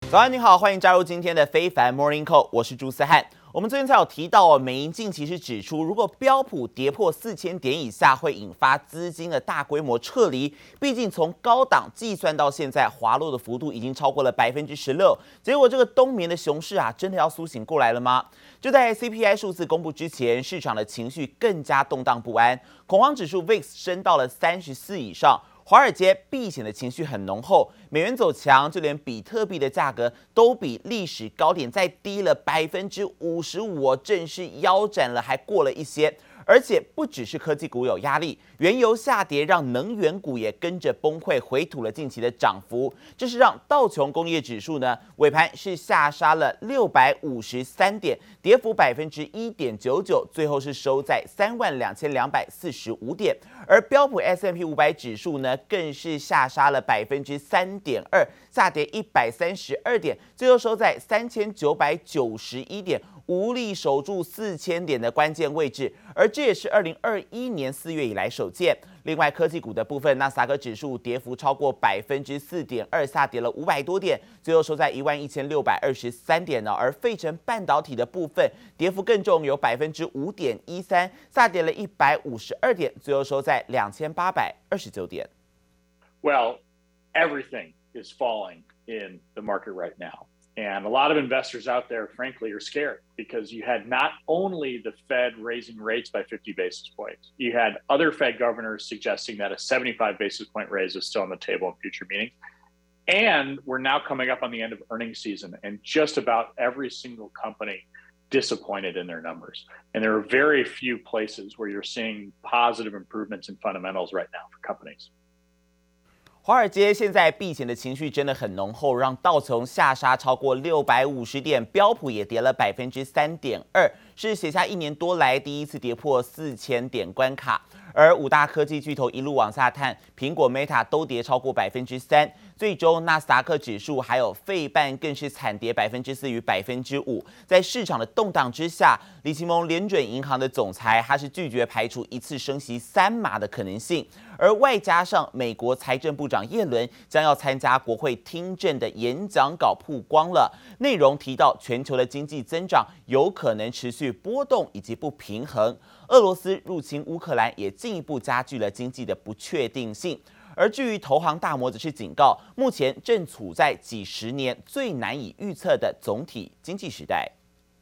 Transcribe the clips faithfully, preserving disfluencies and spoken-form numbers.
早安，你好，歡迎加入今天的非凡 Morning Call， 我是朱思翰。我們昨天才有提到哦，美銀近期是指出，如果標普跌破四千點以下，會引發資金的大規模撤離。畢竟從高檔計算到現在，滑落的幅度已經超過了百分之十六。結果這個冬眠的熊市啊，真的要甦醒過來了嗎？就在 C P I 數字公布之前，市場的情緒更加動盪不安，恐慌指數 V I X 升到了三十四以上。華爾街避險的情緒很濃厚，美元走強，就連比特幣的價格都比歷史高點再低了百分之五十五，正式腰斬了，還過了一些。而且不只是科技股有壓力，原油下跌讓能源股也跟着崩潰，回吐了近期的漲幅。這是讓道瓊工業指數呢尾盤是下殺了六百五十三點，跌幅百分之一點九九，最後是收在三萬兩千两百四十五點。而標普 S and P 五百指數呢更是下殺了百分之三點二，下跌一百三十二點，最後收在三千九百九十一點。無力守住四千點的關鍵位置，而這也是二零二一年四月以來首見。另外，科技股的部分，納斯達克指數跌幅超過百分之四點二，下跌了五百多點，最後收在一萬一千六百二十三點呢。而費城半導體的部分，跌幅更重，有百分之五點一三，下跌了一百五十二點，最後收在兩千八百二十九點。 Well, everything is falling in the market right now. And a lot of investors out there, frankly, are scared because you had not only the Fed raising rates by fifty basis points, you had other Fed governors suggesting that a seventy-five basis point raise is still on the table in future meetings. And we're now coming up on the end of earnings season, and just about every single company disappointed in their numbers. And there are very few places where you're seeing positive improvements in fundamentals right now for companies. 華爾街現在避險的情緒真的很濃厚，讓道瓊下殺超過六百五十點，標普也跌了百分之三點二，是寫下一年多來第一次跌破四千點關卡。而五大科技巨頭一路往下探，蘋果、Meta 都跌超過百分之三。最終，納斯達克指數還有費半更是慘跌百分之四與百分之五。在市場的動盪之下，李奇蒙聯準銀行的總裁他是拒絕排除一次升息三碼的可能性。而外加上美國財政部長耶倫將要參加國會聽證的演講稿曝光了，內容提到全球的經濟增長有可能持續波動以及不平衡。俄羅斯入侵烏克蘭也進一步加劇了經濟的不確定性。而至於投行大摩則是警告，目前正處在幾十年最難以預測的總體經濟時代。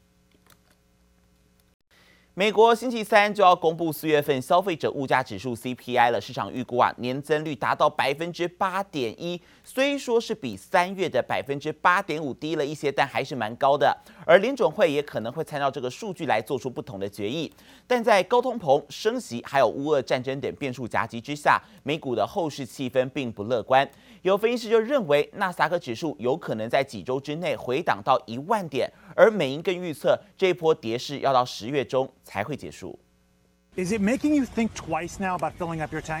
美國星期三就要公布四月份消費者物價指數 C P I 了，市場預估啊年增率達到百分之八點一，雖說是比三月的百分之八點五低了一些，但還是蠻高的。而聯準會也可能會參照這個數據來做出不同的決議。但在高通膨、升息還有烏俄戰爭等變數夾擊之下，美股的後市氣氛並不樂觀。有分析師就認為，納斯達克指數有可能在幾週之內回檔到一萬點，而美銀更預測這一波跌勢要到十月中才會結束。 Is it making you think twice now about filling up your tank?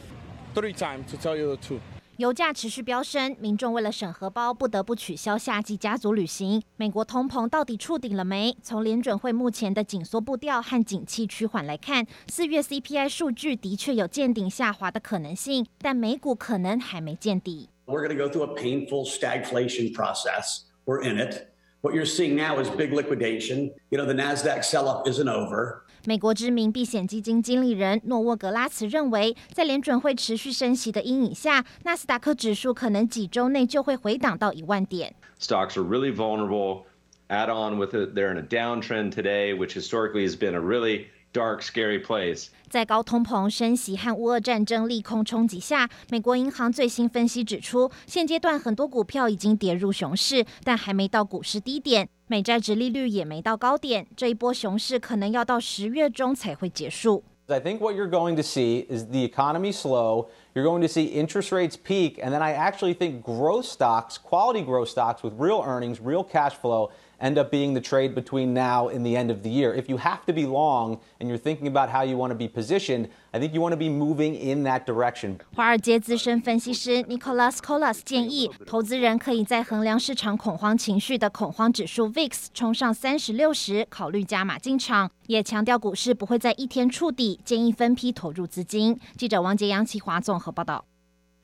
Three times, to tell you the truth. 油價持續飆升，民眾為了省荷包，不得不取消夏季家族旅行。美國通膨到底觸頂了沒？從聯準會目前的緊縮步調和景氣趨緩來看，四月 C P I 數據的確有見頂下滑的可能性，但美股可能還沒見底。 We're going to go through a painful stagflation process. We're in it. What you're seeing now is big liquidation. You know, the NASDAQ sell-off isn't over. 美國知名避險基金經理人諾沃格拉茨認為，在聯準會持續升息的陰影下，納斯達克指數可能幾週內就會回檔到一萬點。 Stocks are really vulnerable. Add on with it, they're in a downtrend today, which historically has been a really dark, scary place. 在高通膨、升息和烏俄戰爭利空衝擊下，美國銀行最新分析指出，現階段很多股票已經跌入熊市，但還沒到股市低點，美債殖利率也沒到高點，這一波熊市可能要到十月中才會結束。 I think what you're going to see is the economy slow. You're going to see interest rates peak, and then I actually think growth stocks, quality growth stocks with real earnings, real cash flow, end up being the trade between now and the end of the year. If you have to be long and you're thinking about how you want to be positioned, I think you want to be moving in that direction. 華爾街資深分析師 Nicholas Colas 建議，投資人可以在衡量市場恐慌情緒的恐慌指數 V I X 衝上三十六時，考慮加碼進場。也強調股市不會在一天觸底，建議分批投入資金。記者王杰、楊啟華綜合報道。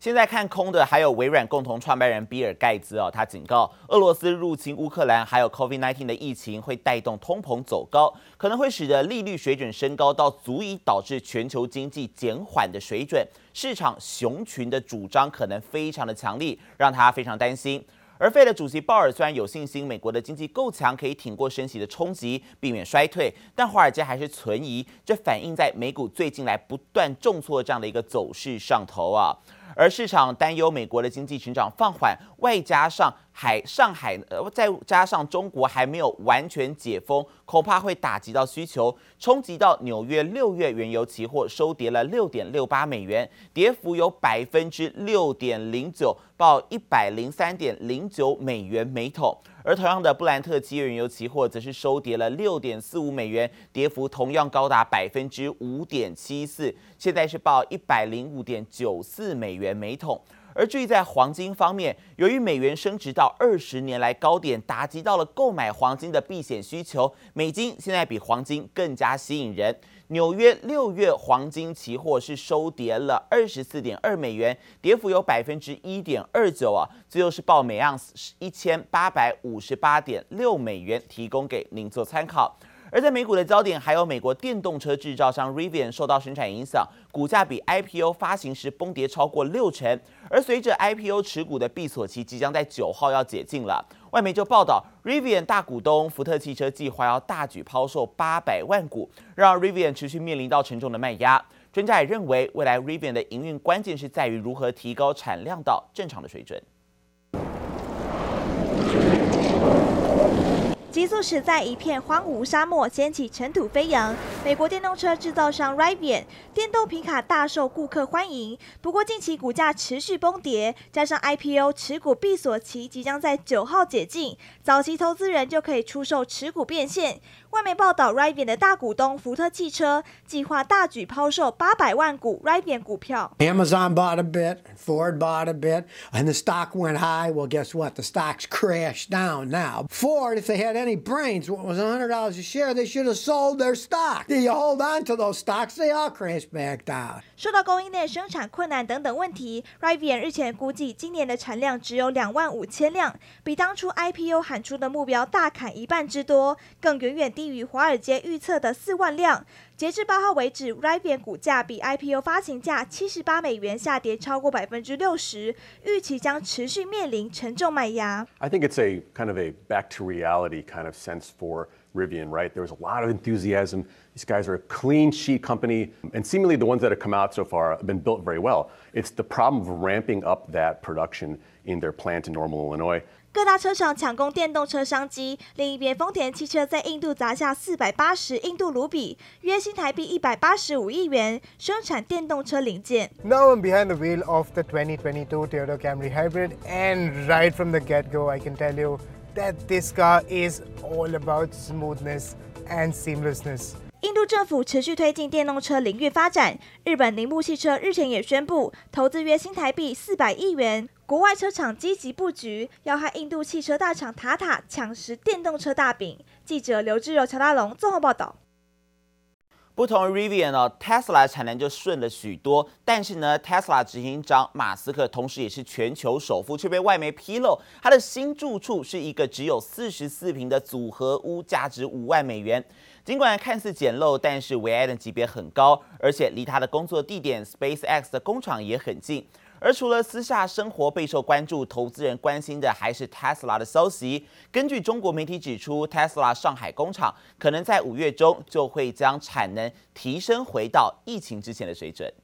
現在看空的還有微軟共同創辦人比爾蓋茨哦，他警告俄羅斯入侵烏克蘭，還有 COVID 十九 的疫情會帶動通膨走高，可能會使得利率水準升高到足以導致全球經濟減緩的水準。市場熊群的主張可能非常的強力，讓他非常擔心。而費的主席鮑爾雖然有信心美國的經濟夠強，可以挺過升息的衝擊，避免衰退，但華爾街還是存疑，這反映在美股最近來不斷重挫這樣的一個走勢上頭啊。而市場擔憂美國的經濟成長放緩，外加上海上海呃，再加上中國還沒有完全解封，恐怕會打擊到需求，衝擊到紐約六月原油期貨收跌了六點六八美元，跌幅有百分之六點零九，報一百零三點零九美元每桶。而同樣的，布蘭特七月原油期貨則是收跌了六點四五美元，跌幅同樣高達百分之五點七四，現在是報一百零五點九四美元每桶。而至於在黃金方面，由於美元升值到二十年來高點，打擊到了購買黃金的避險需求，美金現在比黃金更加吸引人。紐約六月黃金期貨是收跌了二十四點二美元，跌幅有百分之一點二九啊，最後是報每盎司一千八百五十八點六美元，提供給您做參考。而在美股的焦點，還有美國電動車製造商 Rivian 受到生產影響，股價比 I P O 發行時崩跌超過六成。而隨着 I P O 持股的閉鎖期即將在九號要解禁了，外媒就報道 Rivian 大股東福特汽車計劃要大舉拋售八百萬股，讓 Rivian 持續面臨到沉重的賣壓。專家也認為，未來 Rivian 的營運關鍵是在於如何提高產量到正常的水準。 急速駛在一片荒蕪沙漠，掀起塵土飛揚。美國電動車製造商 Rivian 電動皮卡大受顧客歡迎，不過近期股價持續崩跌，加上 I P O 持股閉鎖期即將在九號解禁，早期投資人就可以出售持股變現。外媒報道 ，Rivian 的大股東福特汽車計劃大舉拋售八百萬股 Rivian 股票。 Amazon bought a bit, Ford bought a bit, and the stock went high. Well, guess what? The stock's crashed down now. Ford, if they had any brains, what was one hundred dollars a share, they should have sold their stock. You hold on to those stocks, they all crash back down. 受到供應鏈生產困難等等問題 ，Rivian 日前估計今年的產量只有兩萬五千輛，比當初 I P O 喊出的目標大砍一半之多，更遠遠低於華爾街預測的四萬輛。截至八號為止 ，Rivian 股價比 I P O 發行價七十八美元下跌超過百分之六十，預期將持續面臨沉重賣壓。 I think it's a kind of a back to reality kind of sense for Rivian, right? There was a lot of enthusiasm. These guys are a clean sheet company, and seemingly the ones that have come out so far have been built very well. It's the problem of ramping up that production in their plant in Normal, Illinois. 各大車廠搶攻電動車商機，另一邊豐田汽車在印度砸下四百八十印度盧比，約新台幣一百八十五億元，生產電動車零件。 Now I'm behind the wheel of the twenty twenty-two Toyota Camry Hybrid, and right from the get-go, I can tell you that this car is all about smoothness and seamlessness. 印度政府持續推進電動車領域發展，日本鈴木汽車日前也宣布投資約新台幣四百億元，國外車廠積極佈局，要和印度汽車大廠塔塔搶食電動車大餅。記者劉志柔、喬大龍綜合報道。 不同於 Rivian 哦 ，Tesla 產能就順了許多，但是呢 ，Tesla 執行長馬斯克同時也是全球首富，卻被外媒披露，他的新住處是一個只有四十四坪的組合屋，價值五萬美元。儘管看似簡陋，但是維安的級別很高，而且離他的工作地點 SpaceX 的工廠也很近。而除了私下生活備受關注，投資人關心的還是 Tesla 的消息。根據中國媒體指出 ，Tesla 上海工廠可能在五月中就會將產能提升回到疫情之前的水準。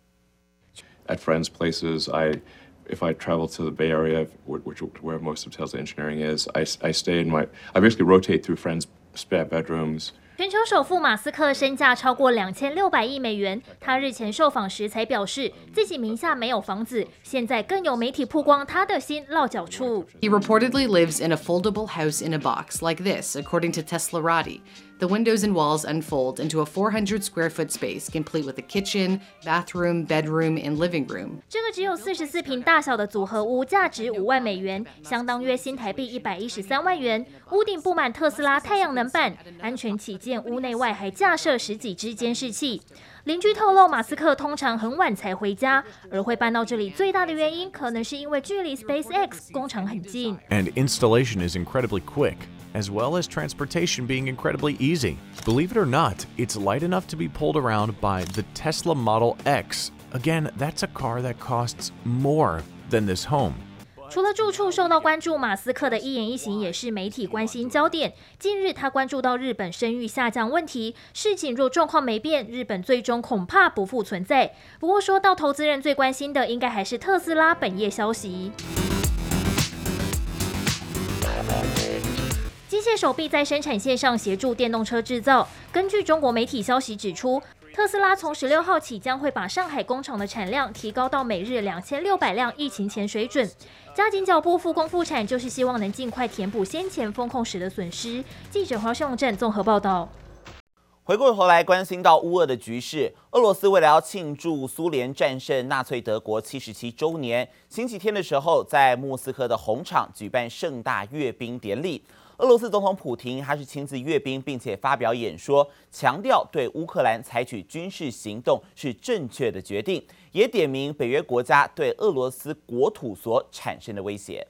At friends' places, I, if I travel to the Bay Area, which where most of Tesla engineering is, I, I stay in my, I basically rotate through friends' spare bedrooms. 全球首富馬斯克身價超過兩千六百億美元。他日前受訪時才表示，自己名下沒有房子，現在更有媒體曝光他的新落腳處。 He reportedly lives in a foldable house in a box like this, according to Teslarati. The windows and walls unfold into a four hundred square foot space, complete with a kitchen, bathroom, bedroom, and living room. 这个只有四十四坪大小的组合屋，价值五万美元，相当约新台币一百一十三万元。屋頂布滿特斯拉太陽能板，安全起見，屋內外還架設十幾支監視器。鄰居透露，馬斯克通常很晚才回家，而會搬到這裡最大的原因，可能是因為距離 SpaceX 工廠很近。 And installation is incredibly quick, as well as transportation being incredibly easy. Believe it or not, it's light enough to be pulled around by the Tesla Model X. Again, that's a car that costs more than this home. 除了住處受到關注，馬斯克的一言一行也是媒體關心焦點。近日，他關注到日本聲譽下降問題，事情若狀況沒變，日本最終恐怕不復存在。不過，說到投資人最關心的，應該還是特斯拉本業消息。機械手臂在生產線上協助電動車製造。根據中國媒體消息指出，特斯拉從十六號起將會把上海工廠的產量提高到每日兩千六百輛疫情前水準。加緊腳步復工復產，就是希望能盡快填補先前封控時的損失。記者黃秀正綜合報道。 回過頭來關心到烏俄的局勢，俄羅斯為了要慶祝蘇聯戰勝納粹德國七十七週年，星期天的時候在莫斯科的紅場舉辦盛大閱兵典禮。俄羅斯總統普廷他是親自閱兵，並且發表演說，強調對烏克蘭採取軍事行動是正確的決定，也點名北約國家對俄羅斯國土所產生的威脅。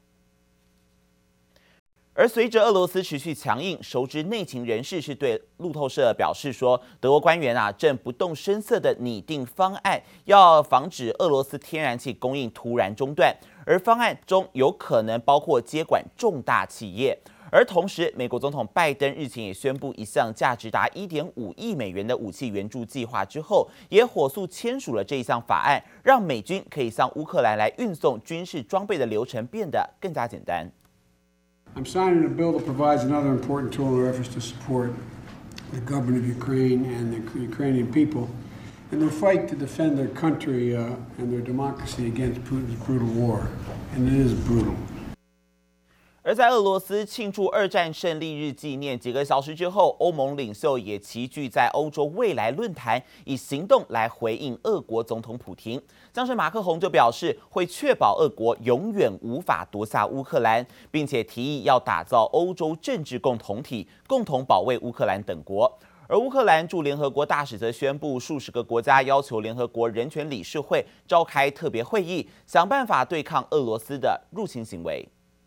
而隨着俄羅斯持續強硬，熟知內情人士是對路透社表示說，德國官員啊正不動聲色地擬定方案，要防止俄羅斯天然氣供應突然中斷，而方案中有可能包括接管重大企業。而同時，美國總統拜登日前也宣布一項價值達一點五億美元的武器援助計劃之後，也火速簽署了這一項法案，讓美軍可以向烏克蘭來運送軍事裝備的流程變得更加簡單。 I'm signing a bill that provides another important tool in our efforts to support the government of Ukraine and the Ukrainian people in their fight to defend their country uh, and their democracy against Putin's brutal war. And it is brutal. 而在俄羅斯慶祝二戰勝利日紀念幾個小時之後，歐盟領袖也齊聚在歐洲未來論壇，以行動來回應俄國總統普廷。像是馬克宏就表示，會確保俄國永遠無法奪下烏克蘭，並且提議要打造歐洲政治共同體，共同保衛烏克蘭等國。而烏克蘭駐聯合國大使則宣布，數十個國家要求聯合國人權理事會召開特別會議，想辦法對抗俄羅斯的入侵行為。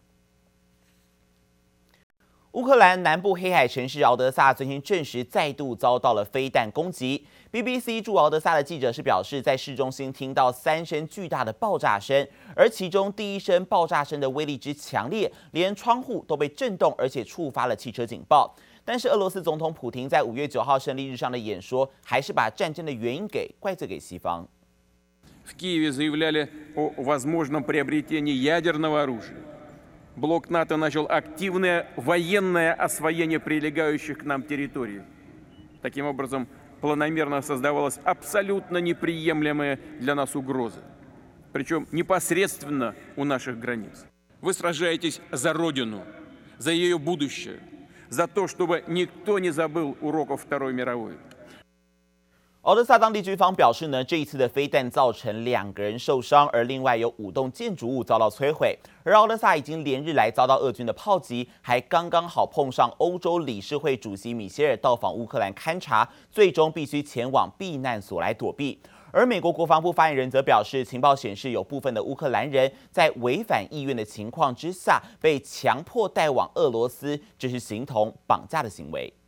烏克蘭南部黑海城市敖德薩最近證實再度遭到了飛彈攻擊。B B C 駐敖德薩的記者是表示，在市中心聽到三聲巨大的爆炸聲，而其中第一聲爆炸聲的威力之強烈，連窗戶都被震動，而且觸發了汽車警報。但是俄羅斯總統普廷在五月九號勝利日上的演說，還是把戰爭的原因給怪罪給西方。 В Киеве заявляли о возможном приобретении ядерного оружия. Блок НАТО начал активное военное освоение прилегающих к нам территорий. Таким образом, планомерно создавалась абсолютно неприемлемая для нас угроза, причем непосредственно у наших границ. Вы сражаетесь за Родину, за ее будущее, за то, чтобы никто не забыл уроков Второй мировой. 敖德薩當地軍方表示呢，這一次的飛彈造成兩個人受傷，而另外有五棟建築物遭到摧毀。而敖德薩已經連日來遭到俄軍的炮擊，還剛剛好碰上歐洲理事會主席米歇爾到訪烏克蘭勘察，最終必須前往避難所來躲避。而美國國防部發言人則表示，情報顯示有部分的烏克蘭人在違反意願的情況之下被強迫帶往俄羅斯，這是形同綁架的行為。